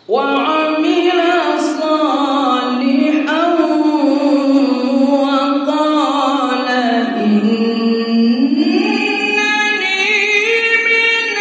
وعمل صالحا وقال إنني من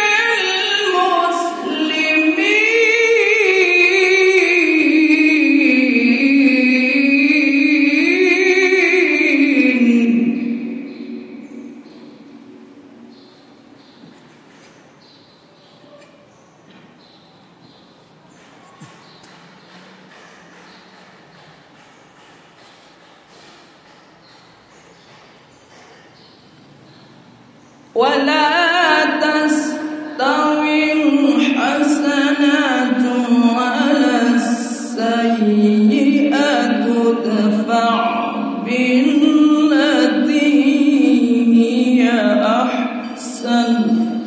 ولا تستوي الحسنة ولا السيئة ادفع بالتي هي أحسن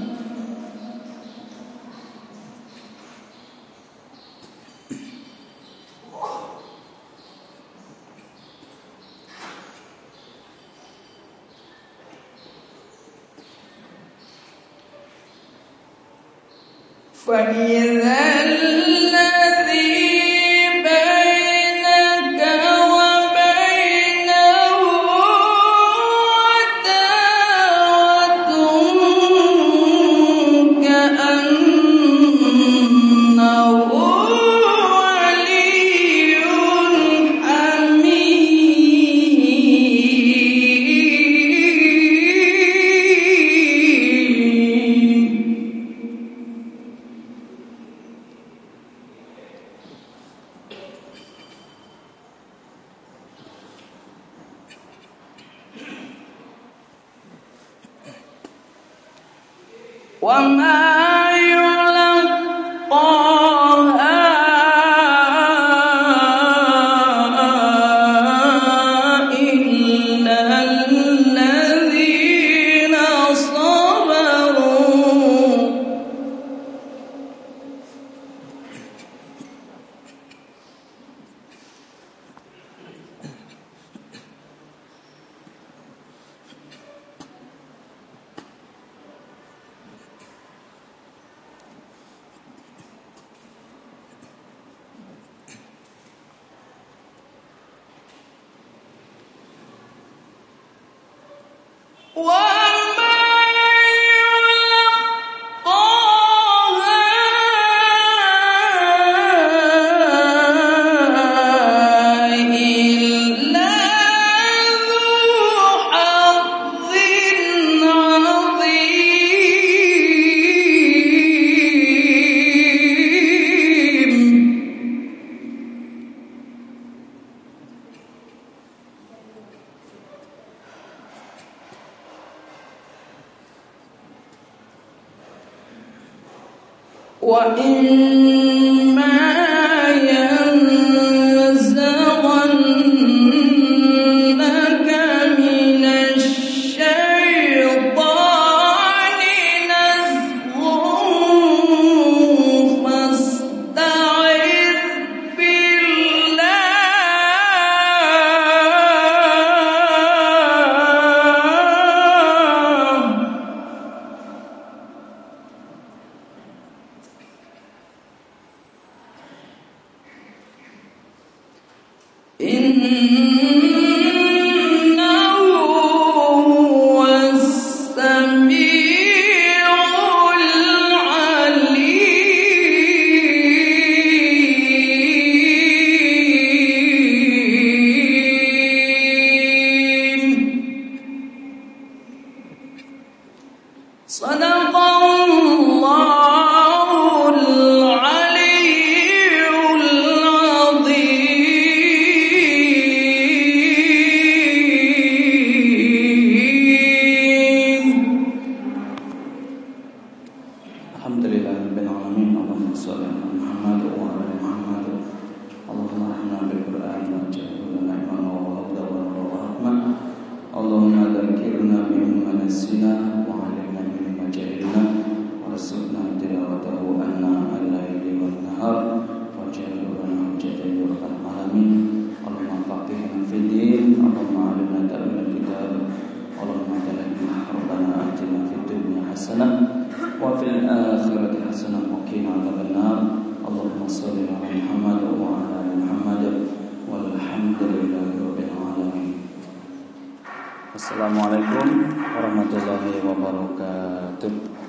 فإذا الذي بينك وبينه عداوة كأنه ولي وما يلقاها إلا الذين صبروا وإما ينزغنك من الشيطان نزغ فاستعذ بالله إنه هو السميع العليم صدق الله العلي العظيم. Alhamdulillahirabbil alamin. Allahumma shalli ala Muhammad wa ala Muhammad. Allahumma rahmna bil Qur'an waj'alhu lana imaman wa hudan wa rahmah. Allahumma dzakirna mimma nasina wa 'allimna mimma jahilna warzuqna tilawatahu anna al-laili wan nahar waj'alhu lana hujjatan ya rabbal alamin. Allahumma faqihna fid din, Allahumma 'allimna ta'wil kitab, Allahumma ja'alna rabbana atina fid dunya hasanah wa fil akhirati hasanah wa qina adzabannar. Allahumma shalli ala Muhammad wa ala ali Muhammad walhamdulillahi rabbil alamin. Assalamualaikum warahmatullahi wabarakatuh.